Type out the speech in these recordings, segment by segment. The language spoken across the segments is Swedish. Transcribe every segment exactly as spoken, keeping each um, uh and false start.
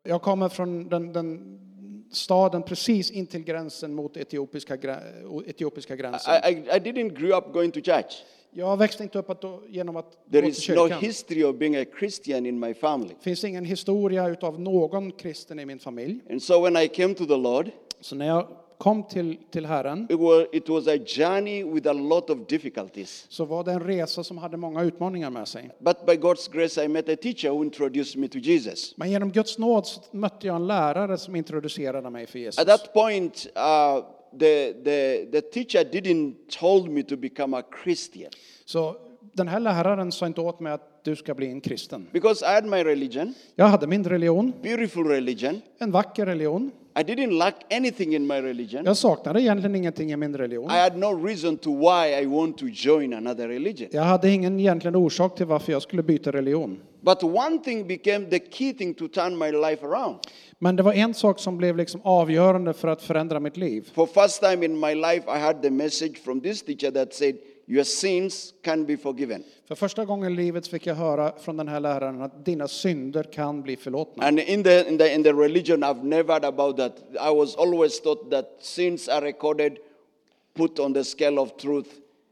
jag kommer från den, den staden precis in till gränsen mot etiopiska, etiopiska gränsen. I, I, I didn't grow up going to church. Jag växte inte upp att, genom att There gå till is no kyrkan. history of being a Christian in my family. Det finns ingen historia utav någon kristen i min familj. And so when I came to the Lord, Så när jag kom till, till Herren it was, it was a journey with a lot of difficulties. så var det en resa som hade många utmaningar med sig. But by God's grace, I met a teacher who introduced me to Jesus. Men genom Guds nåd så mötte jag en lärare som introducerade mig för Jesus. At that point, uh, the, the, the teacher didn't told me to become a Christian. Så den här läraren sa inte åt mig att du ska bli en kristen. Because I had my religion, Jag hade min religion, beautiful religion. en vacker religion. I didn't lack anything in my religion. Jag saknade egentligen ingenting i min religion. I had no reason to why I want to join another religion. Jag hade ingen egentligen orsak till varför jag skulle byta religion. But one thing became the key thing to turn my life around. Men det var en sak som blev liksom avgörande för att förändra mitt liv. For first time in my life, I had the message from this teacher that said, your sins can be forgiven. För första gången i livet fick jag höra från den här läraren att dina synder kan bli förlåtna. And in the, in the, in the religion, I've never heard about that. I was always taught that sins are recorded, put on the scale of truth.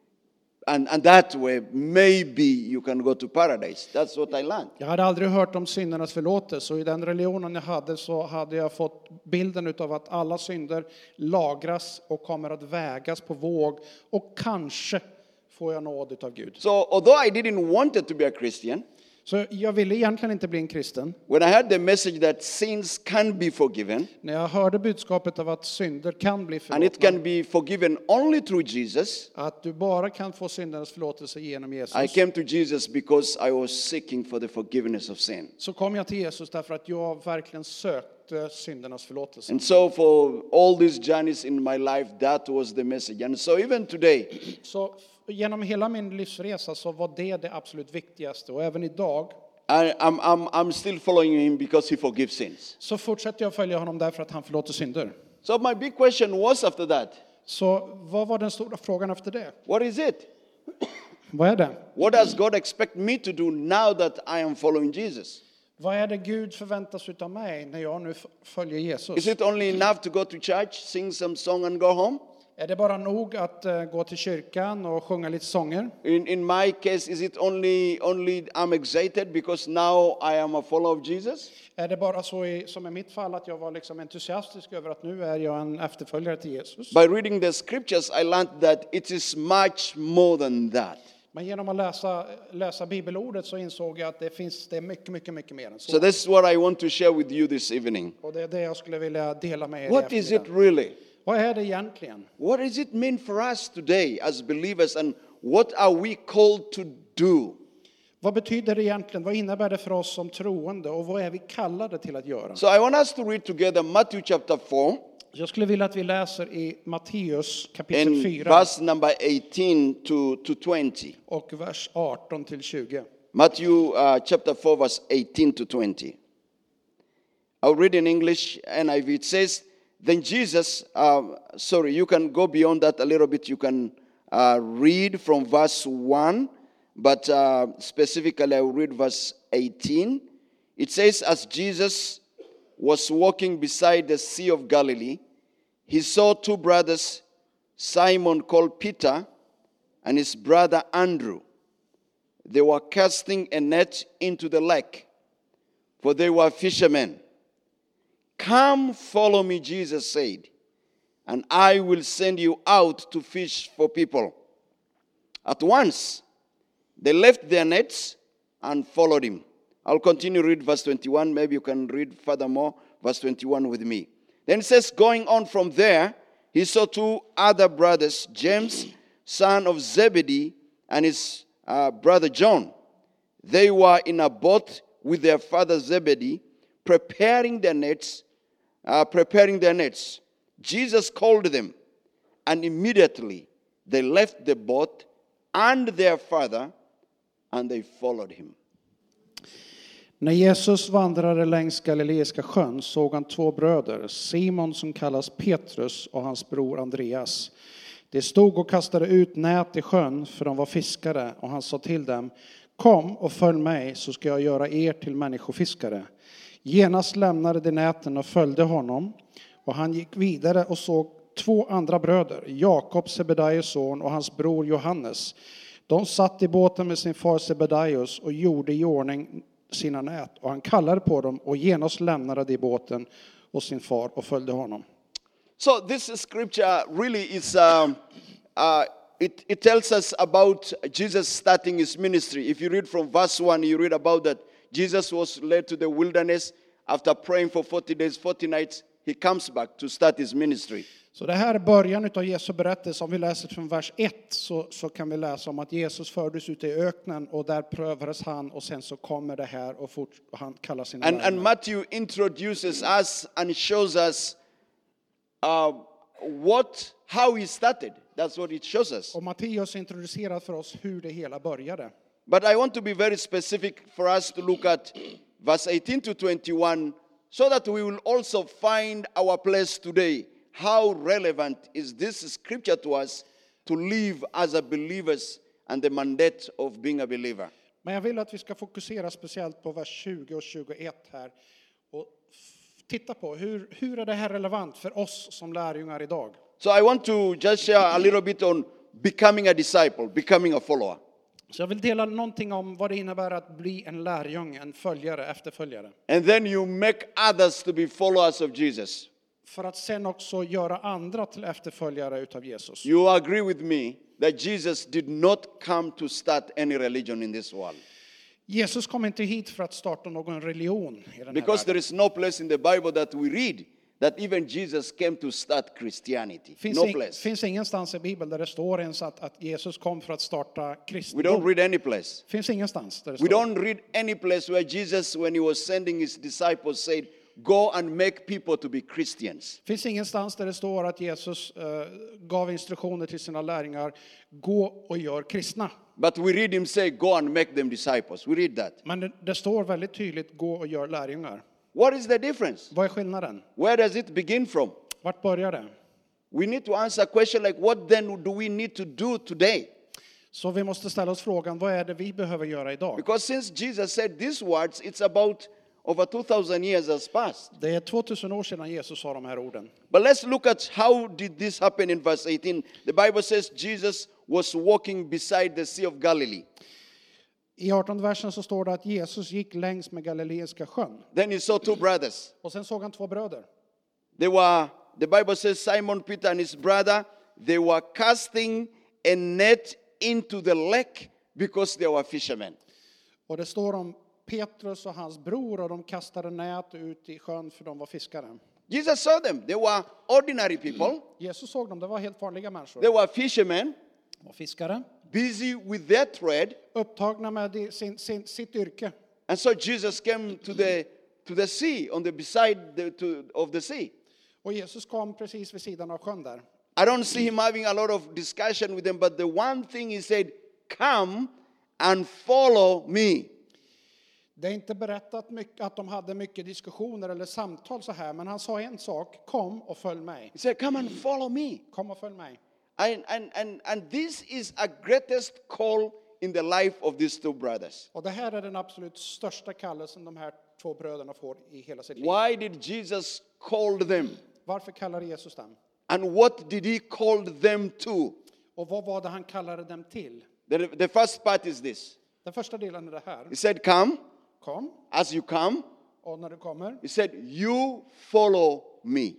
And, and that way, maybe you can go to paradise. That's what I learned. Jag hade aldrig hört om syndernas förlåtelse, och i den religionen jag hade så hade jag fått bilden utav att alla synder lagras och kommer att vägas på våg, och kanske får jag nåd utav Gud. So although I didn't want it to be a Christian, Så jag ville egentligen inte bli en kristen. when I heard the message that sins can be forgiven, När jag hörde budskapet av att synder kan bli and it förlåtna, can be forgiven only through Jesus, att du bara kan få syndernas förlåtelse genom I Jesus, came to Jesus because I was seeking for the forgiveness of sin. så kom jag till Jesus därför att jag verkligen sökte syndernas förlåtelse. And so for all these journeys in my life, that was the message. And so even today, Så genom hela min livsresa så var det det absolut viktigaste, och även idag I, I'm, I'm, I'm still following him because he forgives sins. så fortsätter jag följa honom därför att han förlåter synder. So my big question was after that, Så vad var den stora frågan efter det? what is it? Vad är det? What does God expect me to do now that I am following Jesus? Vad är det Gud förväntar sig av mig när jag nu f- följer Is Jesus? it only enough to go to church, sing some song and go home? Är det bara nog att eh, gå till kyrkan och sjunga lite sånger? In, in my case, is it only, only I'm excited because now I am a follower of Jesus? Är det bara så i, som i mitt fall, att jag var liksom entusiastisk över att nu är jag en efterföljare till Jesus? By reading the scriptures, I learned that it is much more than that. Men genom att läsa, läsa bibelordet så insåg jag att det finns det är mycket, mycket, mycket mer än så. So this is what I want to share with you this evening. Och det är det jag skulle vilja dela med er. i What is it eftermiddag. really? Vad är det egentligen? What does it mean for us today as believers, and what are we called to do? Vad betyder det egentligen? Vad innebär det för oss som troende, och vad är vi kallade till att göra? So I want us to read together Matthew chapter four Jag skulle vilja att vi läser i Matteus kapitel and fyra verse number eighteen to, to twenty. och vers arton till tjugo. Matthew uh, chapter four, verse eighteen to twenty. I'll read in English, N I V. It says, then Jesus, uh, sorry, you can go beyond that a little bit. You can uh, read from verse one, but uh, specifically I will read verse eighteen. It says, as Jesus was walking beside the Sea of Galilee, he saw two brothers, Simon called Peter and his brother Andrew. They were casting a net into the lake, for they were fishermen. Come, follow me, Jesus said, and I will send you out to fish for people. At once, they left their nets and followed him. I'll continue to read verse twenty-one. Maybe you can read furthermore verse twenty-one with me. Then it says, going on from there, he saw two other brothers, James, son of Zebedee, and his uh, brother John. They were in a boat with their father Zebedee, preparing their nets, uh, preparing their nets. Jesus called them, and immediately they left the boat and their father, and they followed him. När Jesus vandrade längs Galileiska sjön såg han två bröder, Simon som kallas Petrus och hans bror Andreas. De stod och kastade ut nät i sjön, för de var fiskare, och han sa till dem, kom och följ mig, så ska jag göra er till människofiskare. Genast lämnade de näten och följde honom. Och han gick vidare och såg två andra bröder, Jakob, Sebedaios son, och hans bror Johannes. De satt i båten med sin far Sebedaios och gjorde i ordning sina nät. Och han kallade på dem och genast lämnade de båten och sin far och följde honom. So this scripture really is, um, uh, it, it tells us about Jesus starting his ministry. If you read from verse one, you read about that Jesus was led to the wilderness. After praying for forty days, forty nights, he comes back to start his ministry. Så det här är början av Jesu berättelse. Om vi läser från vers ett så, så kan vi läsa om att Jesus fördes ut i öknen och där prövades han och sen så kommer det här och, fort, och han kallar sina And, and lärjungar. Matthew introduces us and shows us uh, what, how he started. That's what it shows us. Och Matteus introducerar för oss hur det hela började. But I want to be very specific for us to look at verse eighteen to twenty-one so that we will also find our place today. How relevant is this scripture to us to live as a believers and the mandate of being a believer? Men jag vill att vi ska fokusera speciellt på vers tjugo och tjugoett här. Och f- titta på hur, hur är det här relevant för oss som lärjungar idag. So I want to just share a little bit on becoming a disciple, becoming a follower. Så jag vill dela någonting om vad det innebär att bli en lärjunge, en följare, efterföljare. And then you make others to be followers of Jesus. För att sen också göra andra till efterföljare utav Jesus. You agree with me that Jesus did not come to start any religion in this world. Jesus kom inte hit för att starta någon religion i den här Because there världen. is no place in the Bible that we read that even Jesus came to start Christianity. Finns, No ing, place. finns ingenstans i Bibeln där det står ens att, att Jesus kom för att starta We don't kristendom. read any place. Finns ingenstans där det We står. don't read any place where Jesus, when he was sending his disciples, said, go and make people to be Christians. Finns ingenstans där det står att Jesus eh, gav instruktioner till sina lärjungar. Gå och gör kristna. But we read him say, go and make them disciples. We read that. Men det, det står väldigt tydligt, gå och gör lärjungar. What is the difference? Vad är skillnaden? Where does it begin from? Vart börjar det? We need to answer a question like, what then do we need to do today? Så vi måste ställa oss frågan, vad är det vi behöver göra idag? Because since Jesus said these words, it's about over two thousand years has passed. Det är tvåtusen år sedan Jesus sa de här orden. But let's look at how did this happen in verse eighteen. The Bible says Jesus was walking beside the Sea of Galilee. I artonde versen så står det att Jesus gick längs med Galileiska sjön. Then he saw two brothers. Och sen såg han två bröder. They were, the Bible says Simon Peter and his brother, they were casting a net into the lake because they were fishermen. Och det står om Petrus och hans bror och de kastade nät ut i sjön för de var fiskare. Jesus saw them. They were ordinary people. Jesus såg dem, det var helt vanliga människor. They were fishermen, De var fiskare, busy with their trade. upptagna med det- sin, sin, sitt yrke. And so Jesus came to the, to the sea, on the beside the, to, of the sea. Och Jesus kom precis vid sidan av sjön där. I don't see him having a lot of discussion with them, but the one thing he said, come and follow me. Det är inte berättat mycket, att de hade mycket diskussioner eller samtal så här, men han sa en sak, kom och följ mig. He said, come and follow me. Kom och följ mig. And, and, and, and this is a greatest call in the life of these two brothers. Och det här är den absolut största kallelsen de här två bröderna får i hela sitt liv. Why did Jesus call them? Varför kallar Jesus dem? And what did he call them to? Och vad var det han kallade dem till? The, the first part is this. Den första delen är det här. He said, come. Kom, As you come, och när du kommer, he said, you follow me.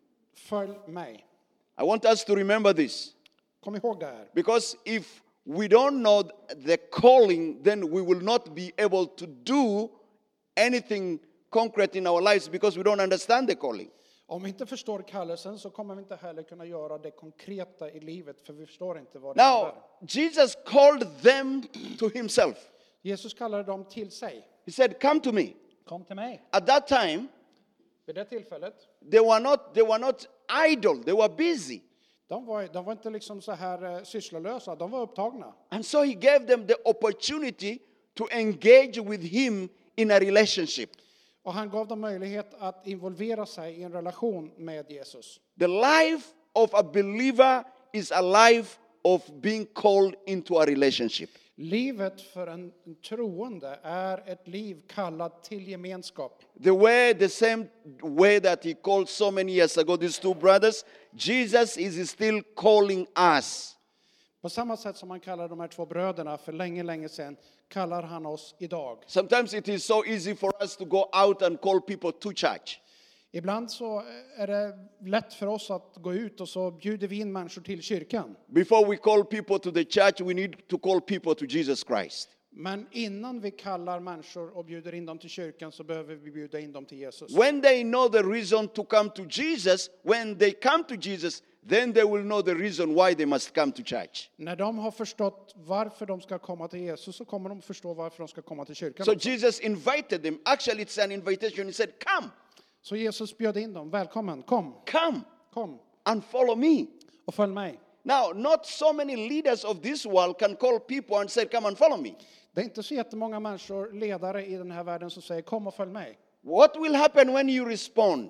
följ mig. I want us to remember this. Kom ihåg det här. Because if we don't know the calling, then we will not be able to do anything concrete in our lives because we don't understand the calling. Om vi inte förstår kallelsen så kommer vi inte heller kunna göra det konkreta i livet, för vi förstår inte vad det Now, innebär. Jesus called them to himself. Jesus kallade dem till sig. He said, come to me. Kom till mig. At that time, Vid det tillfället, they were not, they were not idle, they were busy. de var, de var inte liksom så här eh, sysslolösa, de var upptagna. And so he gave them the opportunity to engage with him in a relationship. Och han gav dem möjlighet att involvera sig i en relation med Jesus. The life of a believer is a life of being called into a relationship. Livet för en troende är ett liv kallat till gemenskap. The way, the same way that he called so many years ago these two brothers, Jesus is still calling us. På samma sätt som han kallar de här två bröderna för länge, länge sedan, kallar han oss idag. Sometimes it is so easy for us to go out and call people to church. Ibland så är det lätt för oss att gå ut och så bjuder vi in människor till kyrkan. Before we call people to the church, we need to call people to Jesus Christ. Men innan vi kallar människor och bjuder in dem till kyrkan så behöver vi bjuda in dem till Jesus. When they know the reason to come to Jesus, when they come to Jesus, then they will know the reason why they must come to church. När de har förstått varför de ska komma till Jesus så kommer de förstå varför de ska komma till kyrkan. So Jesus invited them. Actually, it's an invitation. He said, come. Så Jesus bjöd in dem. Välkommen, kom, Come kom and follow me. och följ mig. Now, not so many leaders of this world can call people and say, come and follow me. Det är inte så jättemånga människor, ledare i den här världen som säger kom och följ mig. What will happen when you respond?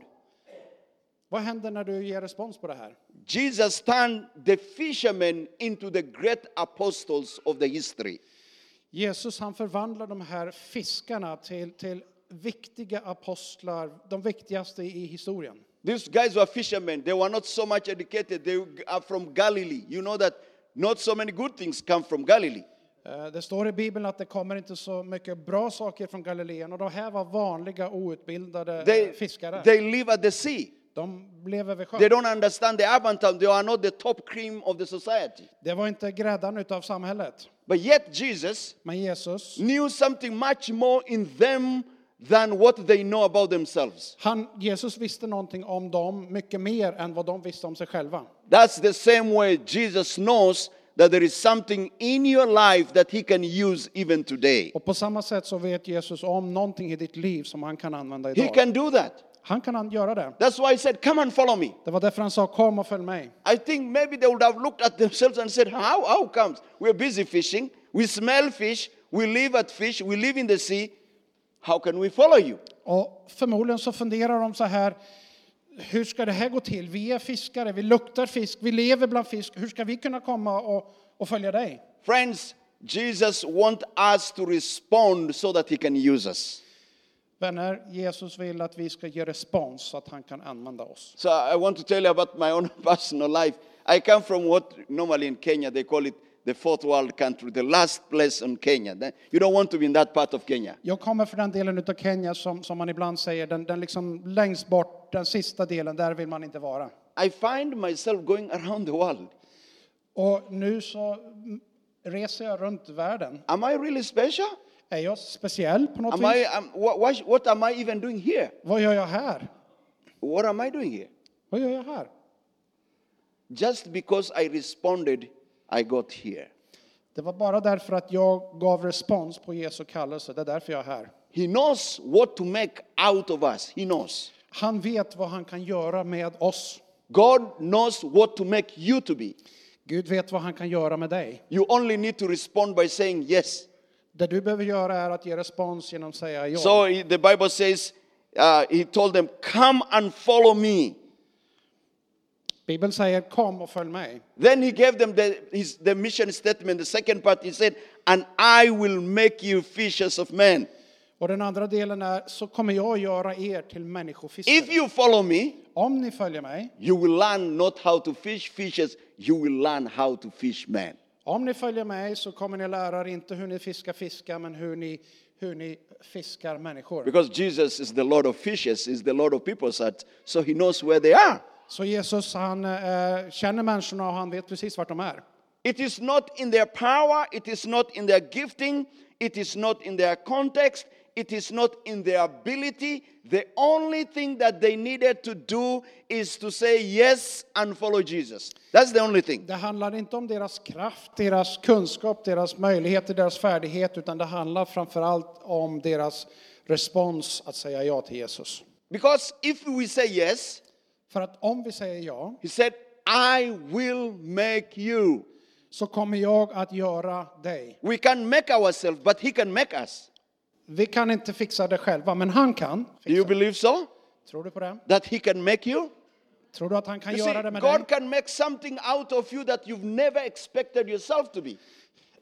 Vad händer när du ger respons på det här? Jesus turned the fishermen into the great apostles of the history. Jesus han förvandlar de här fiskarna till, till viktiga apostlar, de viktigaste i historien. These guys were fishermen. They were not so much educated. They are from Galilee. You know that not so many good things come from Galilee. Eh, Det står i Bibeln att det kommer inte så mycket bra saker från Galileen och de här var vanliga outbildade eh, They, fiskare. they live at the sea. De blev vid They sjön. don't understand the urban town. They are not the top cream of the society. Det var inte gräddan utav samhället. But yet Jesus Men Jesus, knew something much more in them than what they know about themselves. han, Jesus visste någonting om dem mycket mer än vad de visste om sig själva. That's the same way Jesus knows that there is something in your life that he can use even today. Och på samma sätt så vet Jesus om någonting i ditt liv som han kan använda He idag. can do that. Han kan an- göra det. That's why he said, come and follow me. Det var därför han sa kom och följ mig. I think maybe they would have looked at themselves and said, how, how comes? We're busy fishing. We smell fish. We live at fish. We live in the sea. How can we follow you? Och förmodligen så funderar de så här, hur ska det här gå till? Vi är fiskare, vi luktar fisk, vi lever bland fisk. Hur ska vi kunna komma och, och följa dig? Friends, Jesus wants us to respond so that he can use us. Vänner, Jesus vill att vi ska ge respons så att han kan använda oss. So I want to tell you about my own personal life. I come from what normally in Kenya they call it the fourth world country, the last place in Kenya. You don't want to be in that part of Kenya. Jag kommer från den delen av Kenya som, som man ibland säger, den, den liksom längst bort, den sista delen, där vill man inte vara. I find myself going around the world. Och nu så reser jag runt världen. Am I really special? Är jag speciell på något Am vis? I, am, what, what, what am I even doing here? Vad gör jag här? What am I doing here? Vad gör jag här? Just because I responded, I got here. Det var bara därför att jag gav respons på Jesu kallelse. Det är därför jag är här. He knows what to make out of us. He knows. Han vet vad han kan göra med oss. God knows what to make you to be. Gud vet vad han kan göra med dig. You only need to respond by saying yes. Det du behöver göra är att ge respons genom att säga ja. So he- the Bible says, uh, he told them, come and follow me. Bibeln säger kom och följ mig. Then he gave them the, his, the mission statement. The second part, he said, and I will make you fishers of men. Och den andra delen är så kommer jag göra er till människofiskare. If you follow me, Om ni följer mig, you will learn not how to fish fishes, you will learn how to fish men. om ni följer mig så kommer ni lära er inte hur ni fiskar fiskar men hur ni, hur ni fiskar människor. Because Jesus is the Lord of fishes, is the Lord of people's hearts, so he knows where they are. Så Jesus han eh, känner människorna och han vet precis vart de är. It is not in their power, it is not in their gifting, it is not in their context, it is not in their ability. The only thing that they needed to do is to say yes and follow Jesus. That's the only thing. Det handlar inte om deras kraft, deras kunskap, deras möjligheter, deras färdighet utan det handlar framförallt om deras respons att säga ja till Jesus. Because if we say yes, För att om vi säger ja he said, I will make you. så kommer jag att göra dig. We can make ourselves, but he can make us. Vi kan inte fixa det själva, men han kan. Do you Fixa. believe so? Tror du på det? That he can make you? Tror du att han kan You see, göra det med dig? God can make something out of you that you've never expected yourself to be.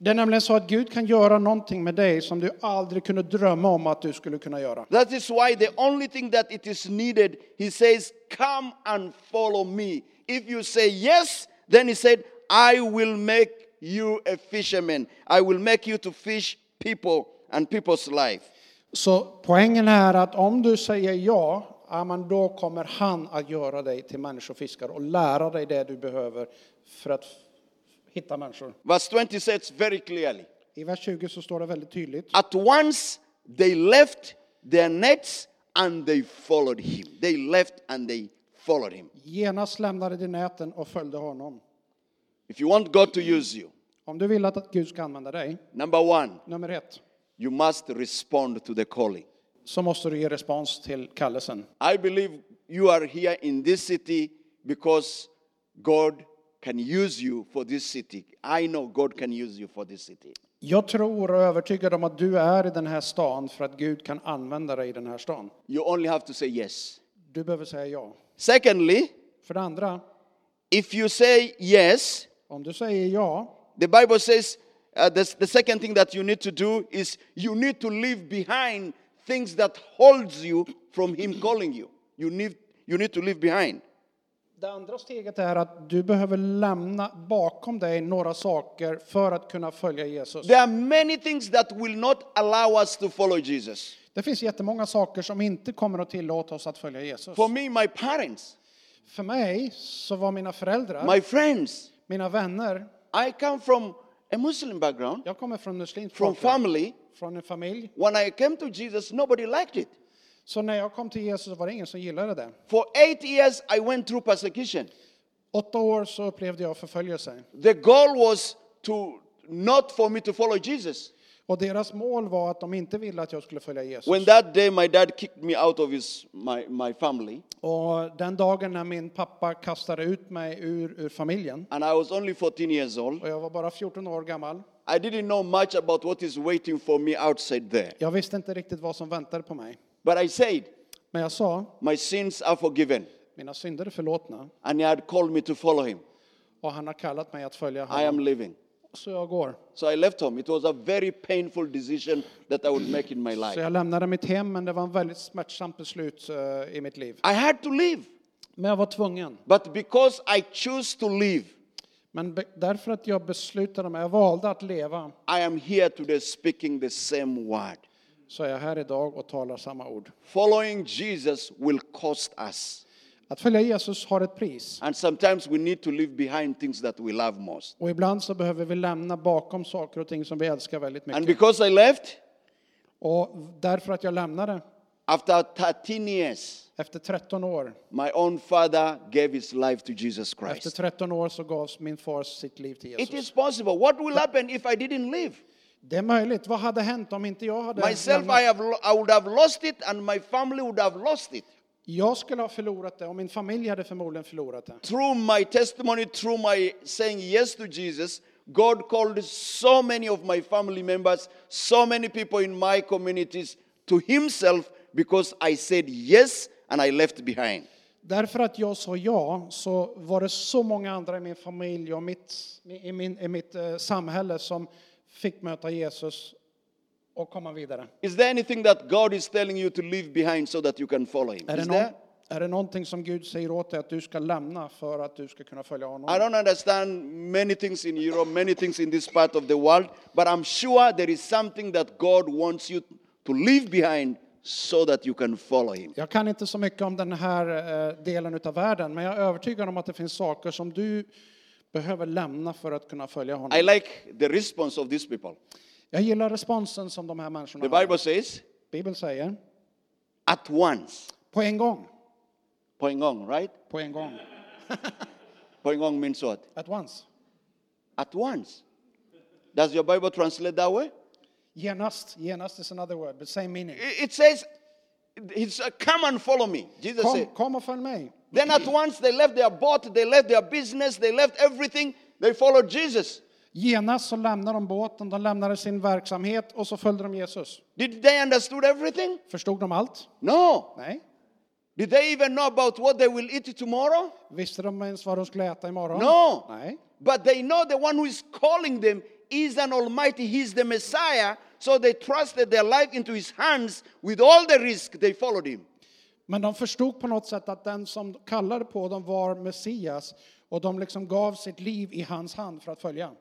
Det är nämligen så att Gud kan göra någonting med dig som du aldrig kunde drömma om att du skulle kunna göra. That is why the only thing that it is needed, he says, come and follow me. If you say yes, then he said, I will make you a fisherman. I will make you to fish people and people's life. Så poängen är att om du säger ja, ja men då kommer han att göra dig till människofiskare och lära dig det du behöver för att hitta människor. Verse twenty says very clearly. I vers tjugo så står det väldigt tydligt. At once they left their nets and they followed him. They left and they followed him. Genast lämnade de näten och följde honom. If you want God to use you, Om du vill att Gud ska använda dig, number one, nummer ett, you must respond to the calling. så måste du ge respons till kallelsen. I believe you are here in this city because God can use you for this city. I know God can use you for this city. Jag tror och är övertygad om att du är i den här stan för att Gud kan använda dig i den här stan. You only have to say yes. Du behöver säga ja. Secondly, För det andra, if you say yes, om du säger ja, the Bible says uh, the, the second thing that you need to do is you need to leave behind things that holds you from him calling you. You need, you need to leave behind. det andra steget är att du behöver lämna bakom dig några saker för att kunna följa Jesus. There are many things that will not allow us to follow Jesus. Det finns jättemånga saker som inte kommer att tillåta oss att följa Jesus. For me, my parents, För mig så var mina föräldrar, my friends, mina vänner, I come from a Muslim background, jag kommer från muslimsk from bakgrund, family. från en familj. When I came to Jesus, nobody liked it. Så när jag kom till Jesus så var det ingen som gillade det. For eight years, I went through persecution. Åtta år så upplevde jag förföljelse. The goal was to not for me to follow Jesus. Och deras mål var att de inte ville att jag skulle följa Jesus. When that day my dad kicked me out of his my, my family, Och den dagen när min pappa kastade ut mig ur, ur familjen, and I was only fourteen years old, och jag var bara fjorton år gammal, I didn't know much about what is waiting for me outside there. jag visste inte riktigt vad som väntade på mig. But I said, Men jag sa, my sins are forgiven, mina synder är förlåtna and he had called me to follow him. och han har kallat mig att följa I honom. am living. Så jag går. So I left home. It was a very painful decision that I would make in my Så life. jag lämnade mitt hem, men det var en väldigt smärtsamt beslut uh, i mitt liv. I had to leave. Men jag var tvungen. But because I chose to live, Men be- därför att jag beslutade mig, jag valde att leva, I am here today speaking the same word. så är jag här idag och talar samma ord. Following Jesus will cost us. Att följa Jesus har ett pris. And sometimes we need to leave behind things that we love most. Och ibland så behöver vi lämna bakom saker och ting som vi älskar väldigt And mycket. because I left, Och därför att jag lämnade, after thirteen years, efter tretton år, my own father gave his life to Jesus efter Christ. tretton år så gavs min far sitt liv till It Jesus. is possible. What will happen if I didn't live? Det är möjligt. Vad hade hänt om inte jag hade Myself, lämnat? I, have, lo- I would have lost it, and my family would have lost it. Jag skulle ha förlorat det och min familj hade förmodligen förlorat det. Through my testimony, through my saying yes to Jesus, God called so many of my family members, so many people in my communities to himself because I said yes and I left behind. Därför att jag sa ja så var det så många andra i min familj och mitt, i, min, i mitt eh, samhälle som fick möta Jesus och komma vidare. Is there anything that God is telling you to leave behind so that you can follow him? Är det, Is någon, there? är det någonting som Gud säger åt dig att du ska lämna för att du ska kunna följa honom? I don't understand many things in Europe, many things in this part of the world, but I'm sure there is something that God wants you to leave behind so that you can follow him. Jag kan inte så mycket om den här eh, delen av världen, men jag är övertygad om att det finns saker som du behöver lämna för att kunna följa honom. I like the response of these people. Jag gillar responsen som de här människorna The har. Bible says, Bibeln säger, at once. på en gång. Poingong, right? På en gång. Poingong means what? At once. At once. Does your Bible translate that way? Genast. Genast is another word, but same meaning. It it says, it's, uh, come and follow me. Jesus Kom, said. kom och följ mig. Then at once they left their boat, they left their business, they left everything. They followed Jesus. Genast så lämnade de båten, de lämnade sin verksamhet och så följde de Jesus. Did they understood everything? Förstod de allt? No. Nej. Did they even know about what they will eat Visste de ens vad de skulle äta imorgon? No. Nej. But they know the one who is calling them is an almighty, he's the Messiah. So they trusted their life into his hands with all the risk. They followed him. Men de förstod på något sätt att den som kallade på dem var Messias. Och de liksom gav sitt liv i hans hand för att följa.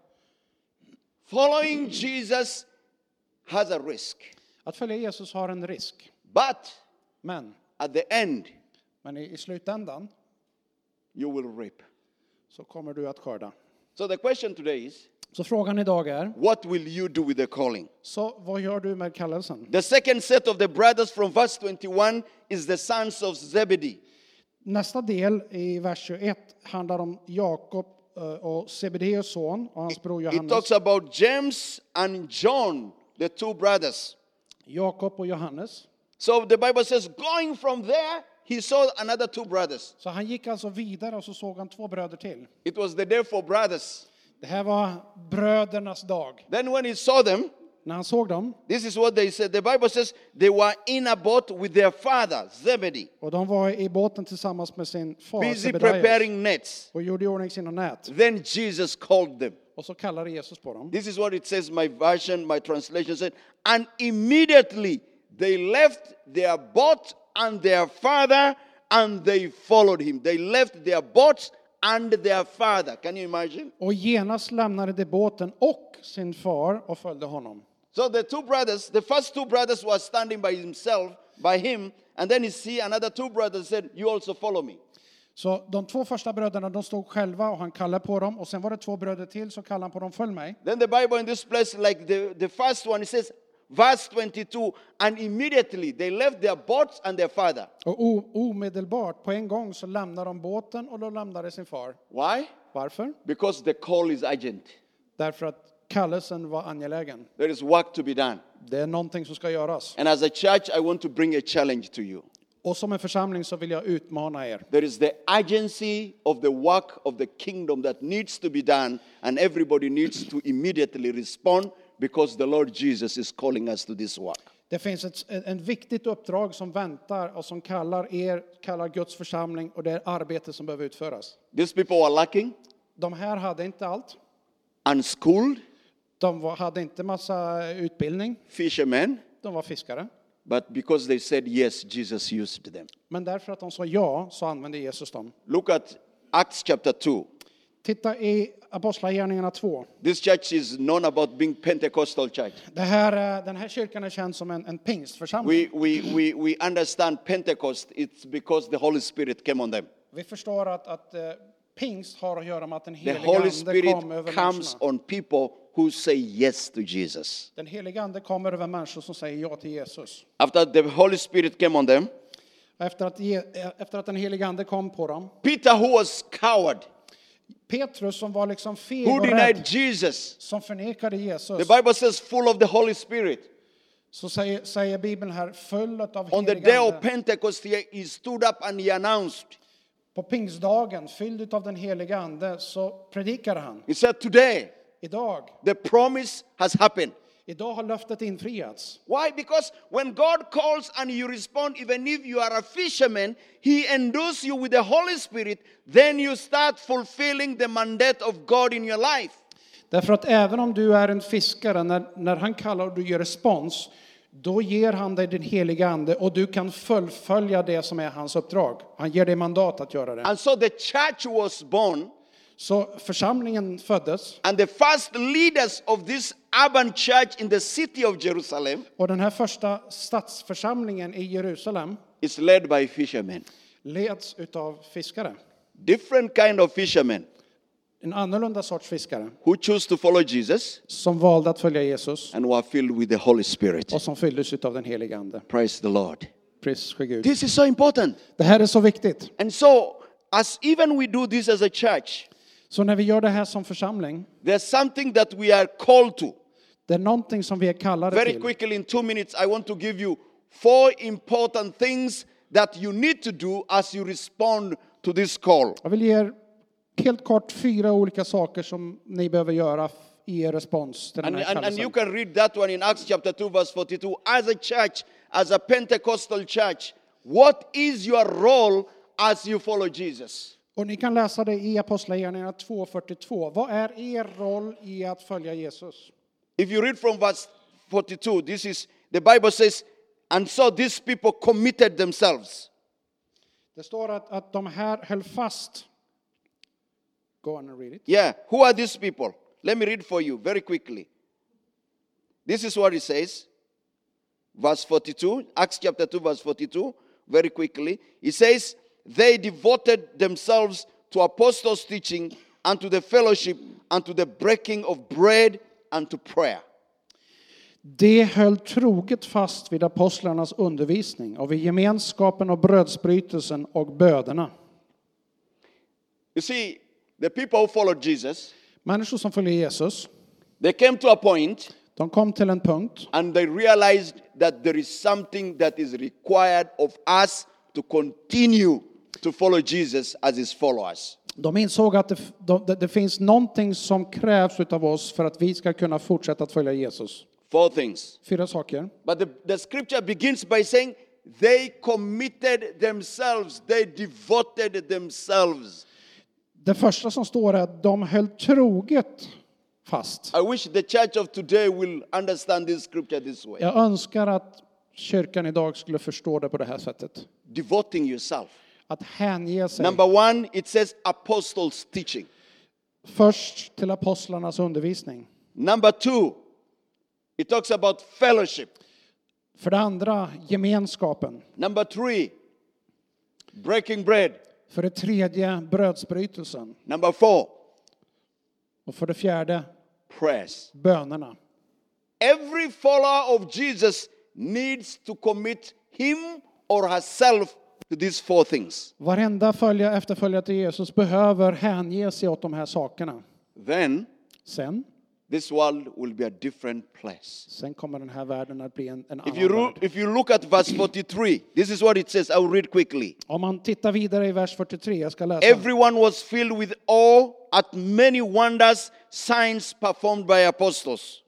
Following Jesus has a risk. Att följa Jesus har en risk. But Men, at the end, men i, i slutändan you will reap. så kommer du att skörda. So the question today is, Så frågan idag är, what will you do with the calling? så vad gör du med kallelsen? The second set of the brothers from verse twenty-one is the sons of Zebedee. Nästa del i vers tjugoett handlar om Jakob eh, och Zebedeus son och hans bror It Johannes. talks about James and John, the two brothers. Jakob och Johannes. So the Bible says, going from there, he saw another two brothers. Så han gick alltså vidare och så såg han två bröder till. It was the day for brothers. Det här var brödernas dag. Then when he saw them, När han såg dem, this is what they said. The Bible says they were in a boat with their father, Zebedee, och de var i båten tillsammans med sin far busy Zebedeus preparing nets. och gjorde i ordning sina nät. Then Jesus called them. Och så kallade Jesus på dem. This is what it says, my version, my translation said. And immediately they left their boat and their father and they followed him. They left their boats and their father. Can you imagine? Och genast lämnade de båten och sin far och följde honom. So the two brothers, the first two brothers were standing by himself, by him. And then he see another two brothers said, you also follow me. Så de två första bröderna, de stod själva och han kallade på dem. Och sen var det två bröder till, så kallade han på dem, följ mig. Then the Bible in this place, like the, the first one, it says, verse twenty-two, and immediately they left their boats and their father. Och o- omedelbart, på en gång, så lämnade de båten och de lämnade sin far. Why? Varför? Because the call is urgent. Därför att kallelsen var angelägen. There is work to be done. Det är någonting som ska göras. And as a church, I want to bring a challenge to you. Och som en församling så vill jag utmana er. There is the urgency of the work of the kingdom that needs to be done, and everybody needs to immediately respond because the Lord Jesus is calling us to this work. Det finns ett en viktigt uppdrag som väntar och som kallar er, kallar Guds församling, och det är arbete som behöver utföras. These people were lacking, De här hade inte allt. unschooled, De var, hade inte massa utbildning. fishermen, De var fiskare. but because they said yes, Jesus used them. Men därför att de sa ja så använde Jesus dem. Look at Acts chapter two. Titta i Apostlagärningarna två. This church is known about being Pentecostal church. Det här, eh, den här kyrkan är känd som en, en pingstförsamling. We, we, we, we understand Pentecost, it's because the Holy Spirit came on them. Vi förstår att, att eh, pingst har att göra med att den The heliga Holy ande Spirit kom över comes människorna. on people who say yes to Jesus. Den heliga ande kommer över människor som säger ja till Jesus. After the Holy Spirit came on them, Efter att, ge, eh, efter att den heliga ande kom på dem. Peter, who was coward, Petrus som var liksom feg who och denied rädd, Jesus, som förnekade Jesus. the Bible says full of the Holy Spirit. Så säger, säger Bibeln här, full av On the heliga day of ande. Pentecost, he, he stood up and he announced, På pingstdagen, fylld av den heliga ande, så predikade han. he said, today Idag, the promise has happened. idag har löftet infriats. Why? Because when God calls and you respond, even if you are a fisherman, he endows you with the Holy Spirit, then you start fulfilling the mandate of God in your life. Därför att även om du är en fiskare, när, när han kallar och du ger respons, då ger han dig den heliga ande och du kan fullfölja det som är hans uppdrag. Han ger dig mandat att göra det. And so the church was born, Så församlingen föddes, and the first leaders of this urban church in the city of Jerusalem och den här första stadsförsamlingen i Jerusalem is led by fishermen. leds utav fiskare. Different kind of fishermen En annorlunda sorts fiskare who choose to follow Jesus som valde att följa Jesus and were filled with the Holy Spirit. och som fylldes utav den heliga ande. Praise the Lord. Pris ske Gud. This is so important. Det här är så viktigt. And so, as even we do this as a church, Så när vi gör det här som församling, there's something that we are called to. det är någonting som vi är kallade Very till. quickly, in two minutes, I want to give you four important things that you need to do as you respond to this call. Jag vill ge er helt kort fyra olika saker som ni behöver göra i er respons till den And, här and, and you kallelsen. can read that one in Acts chapter two, verse forty-two. As a church, as a Pentecostal church, what is your role as you follow Jesus? Och ni kan läsa det i Apostlagärningarna två fyrtiotvå. Vad är er roll i att följa Jesus? If you read from verse forty-two, this is, the Bible says, and so these people committed themselves. Det står att, att de här höll fast. Go on and read it. Yeah, who are these people? Let me read for you very quickly. This is what it says. Verse forty-two, Acts chapter two, verse forty-two, very quickly. It says, they devoted themselves to apostles' teaching and to the fellowship and to the breaking of bread and to prayer. De höll troget fast vid apostlarnas undervisning och vid gemenskapen och brödsbrytelsen och bönerna. You see, the people who followed Jesus, Människor som följer Jesus, they came to a point de kom till en punkt and they realized that there is something that is required of us to continue to follow Jesus as his followers. de insåg att det, det, det finns någonting som krävs av oss för att vi ska kunna fortsätta att följa Jesus. Four things. Fyra saker. But the, the scripture begins by saying they committed themselves, they devoted themselves. Det första som står är att de höll troget fast. I wish the church of today will understand this scripture this way. Jag önskar att kyrkan idag skulle förstå det på det här sättet. Devoting yourself. Att hänge sig. Number one, it says apostles' teaching. Först till apostlarnas undervisning. Number two, it talks about fellowship. För det andra, gemenskapen. Number three, breaking bread. För det tredje, brödsbrytelsen. Number four, Och för det fjärde, prayers. bönerna. Every follower of Jesus needs to commit him or herself to these four things. Varenda följa, efterföljare till Jesus behöver hänge sig åt de här sakerna. Then Sen, this world will be a different place. sen kommer den här världen att bli en, en If you, annan ro- värld. if you look at verse forty-three, this is what it says. I will read quickly. Om man tittar vidare i vers fyrtiotre, jag ska läsa. Everyone was filled with awe at many wonders, signs performed by apostles.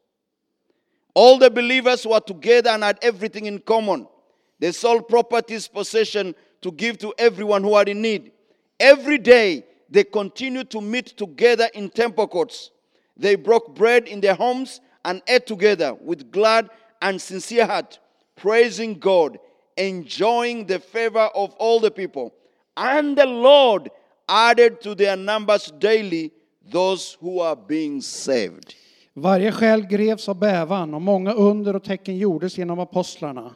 All the believers were together and had everything in common. They sold properties, possession to give to everyone who had in need. Every day they continued to meet together in temple courts. They broke bread in their homes and ate together with glad and sincere heart, praising God, enjoying the favor of all the people. And the Lord added to their numbers daily those who are being saved. Varje själ greps av bävan och många under och tecken gjordes genom apostlarna.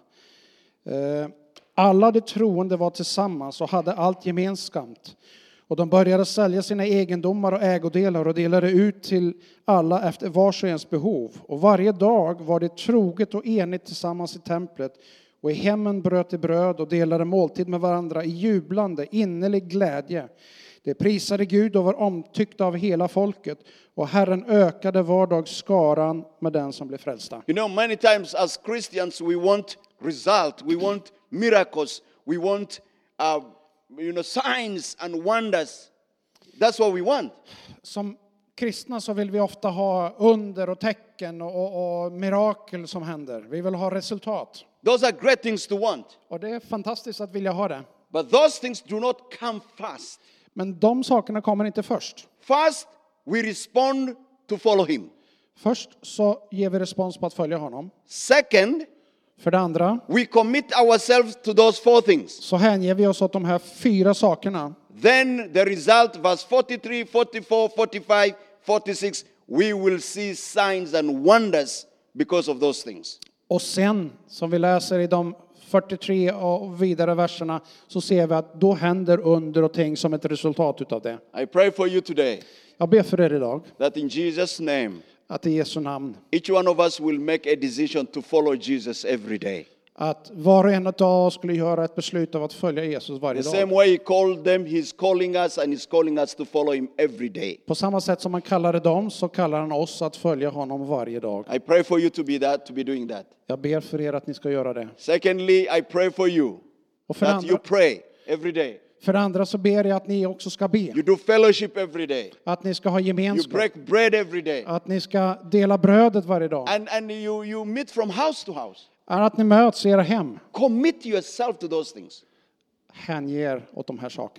Eh, Alla de troende var tillsammans och hade allt gemensamt. Och de började sälja sina egendomar och ägodelar och delade ut till alla efter vars och ens behov. Och varje dag var det troget och enigt tillsammans i templet. Och i hemmen bröt de bröd och delade måltid med varandra i jublande, innerlig glädje. De prisade Gud och var omtyckta av hela folket. Och Herren ökade var dag skaran med den som blev frälsta. You know, many times as Christians, we want result, we want miracles, we want, uh, you know, signs and wonders. That's what we want. Som kristna så vill vi ofta ha under och tecken och, och, och mirakel som händer. Vi vill ha resultat. Those are great things to want. Och det är fantastiskt att vilja ha det. But those things do not come first. Men de sakerna kommer inte först. First, we respond to follow him. Först så ger vi respons på att följa honom. Second, För det andra we commit ourselves to those four things. så hänger vi oss åt de här fyra sakerna. Then the result, verse forty-three, forty-four, forty-five, forty-six, we will see signs and wonders because of those things. Och sen, som vi läser i de fyrtiotre och vidare verserna, så ser vi att då händer under och ting som ett resultat utav det. I pray for you today Jag ber för er idag that in Jesus' name, att i Jesu namn, each one of us will make a decision to follow Jesus every day. att var och en av oss skulle göra ett beslut av att följa Jesus varje The same dag. way he called them, he's calling us and he's calling us to follow him every day. På samma sätt som man kallade dem så kallar han oss att följa honom varje dag. I pray for you to be that, to be doing that. Jag ber för er att ni ska göra det. Secondly, I pray for you Och för det that you andra, pray every day. för det andra så ber jag att ni också ska be. You do fellowship every day. Att ni ska ha You gemenskap. break bread every day. Att ni ska dela brödet varje dag. And, and you, you meet from house to house. Att ni möts i era hem. Commit yourself to those things. Hänger åt de här sakerna.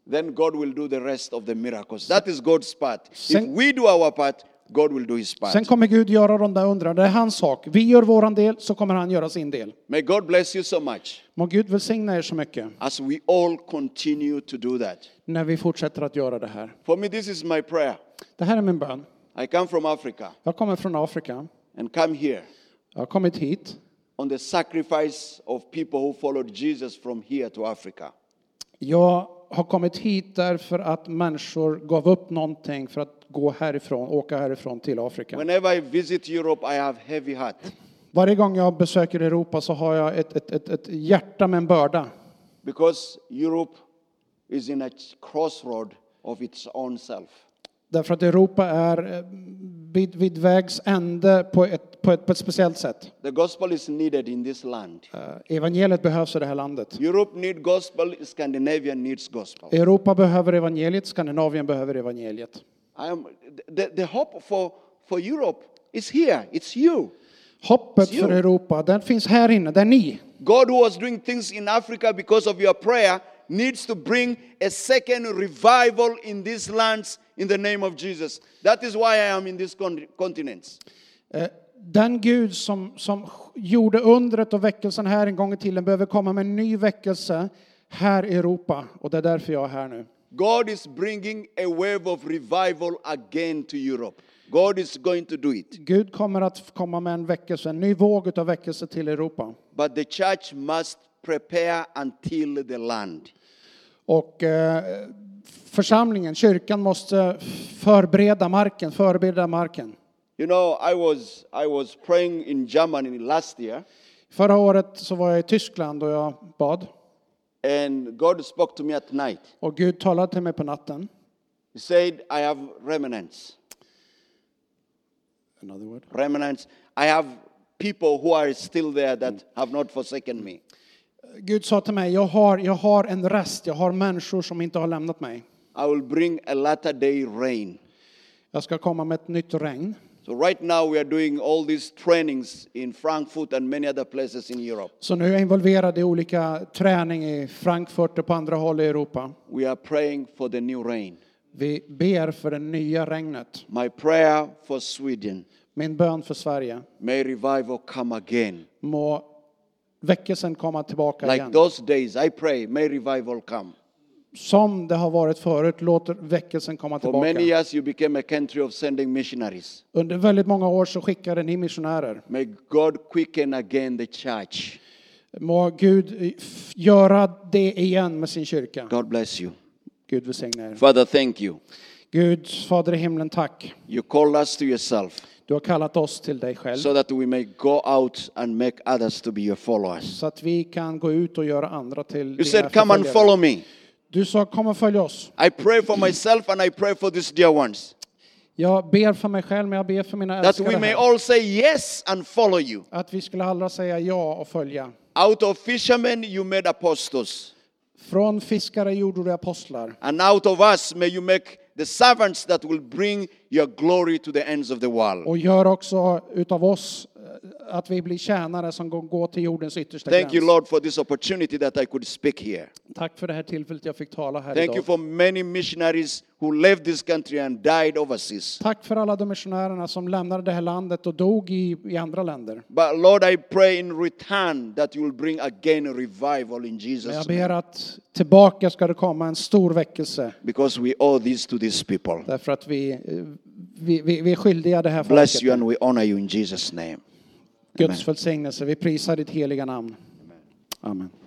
then God will do the rest of the miracles. That is God's part. Sen- If we do our part, God will do his part. Sen kommer Gud göra de där undren. Det är hans sak. Vi gör våran del, så kommer han göra sin del. May God bless you so much Må Gud välsigna er så mycket as we all continue to do that. när vi fortsätter att göra det här. For me, this is my prayer. Det här är min bön. I come from Africa Jag kommer från Afrika. and come here Jag har kommit hit on the sacrifice of people who followed Jesus from here to Africa. Jag har kommit hit därför att människor gav upp någonting för att gå härifrån, åka härifrån till Afrika. Whenever I visit Europe, I have heavy heart. Varje gång jag besöker Europa så har jag ett, ett, ett, ett hjärta med en börda. Because Europe is in a crossroad of its own self. Därför att Europa är eh, vid, vid vägs ände på ett, på, ett, på ett speciellt sätt. The gospel is needed in this land. Eh, Evangeliet behövs i det här landet. Europe needs gospel, Scandinavia needs gospel. Europa behöver evangeliet, Skandinavien behöver evangeliet. I am, the, the hope for, for Europe is here. It's you. Hoppet för Europa, den finns här inne, det är ni. God, who was doing things in Africa because of your prayer, needs to bring a second revival in these lands in the name of Jesus. That is why I am in these con- continents. Eh, Den Gud som, som gjorde undret och väckelsen här en gång i tiden behöver komma med en ny väckelse här i Europa. Och det är därför jag är här nu. God is bringing a wave of revival again to Europe. God is going to do it. Gud kommer att komma med en väckelse, en ny våg av väckelse till Europa. But the church must prepare until the land. Och eh, församlingen, kyrkan måste förbereda marken, förbereda marken. You know, I was I was praying in Germany last year, Förra året så var jag i Tyskland och jag bad. and God spoke to me at night. Och Gud talade till mig på natten. He said, I have remnants. Another word. Remnants. I have people who are still there that have not forsaken me. Gud sa till mig, jag har, jag har en rest, jag har människor som inte har lämnat mig. I will bring a latter day rain. Jag ska komma med ett nytt regn. So right now we are doing all these trainings in Frankfurt and many other places in Europe. Så nu är jag involverad i olika träning i Frankfurt och på andra håll i Europa. We are praying for the new rain. Vi ber för det nya regnet. My prayer for Sweden, Min bön för Sverige. may revival come again. Må väckelsen komma tillbaka Like igen. those days, I pray, may revival come. Som det har varit förut, låter väckelsen komma For many tillbaka. years you became a country of sending missionaries. Under väldigt många år så skickade ni missionärer. May God quicken again the church. Må Gud f- göra det igen med sin kyrka. God bless you. Gud välsigne er. Father, thank you. Gud, Fader i himlen, tack. You called us to yourself Du har kallat oss till dig själv. so that we may go out and make others to be your followers. Så att vi kan gå ut och göra andra till You dina said, come and förföljare. follow me. Du sa, kom och följ oss. I pray for myself and I pray for these dear ones. Jag ber för mig själv, men jag ber för mina That we älskade may här. all say yes and follow you. Att vi skulle alla säga ja och följa. Out of fishermen you made apostles. Från fiskare gjorde du apostlar. And out of us may you make the servants that will bring your glory to the ends of the world. Och gör också utav oss eh, att vi blir tjänare som går- går till jordens yttersta Thank you, gräns. Lord, for this opportunity that I could speak here. Tack för det här tillfället jag fick tala här Thank idag. you for many missionaries who left this country and died overseas. Tack för alla de missionärerna som lämnade det här landet och dog i, i andra länder. But Lord, I pray in return that you will bring again a revival in Men jag Jesus' ber name. att tillbaka ska det komma en stor väckelse. Because we owe this to these people. Därför att vi, eh, vi, vi, vi är skyldiga det här Bless you folket. and we honor you in Jesus' name. Guds välsignelse. Vi prisar ditt heliga namn. Amen.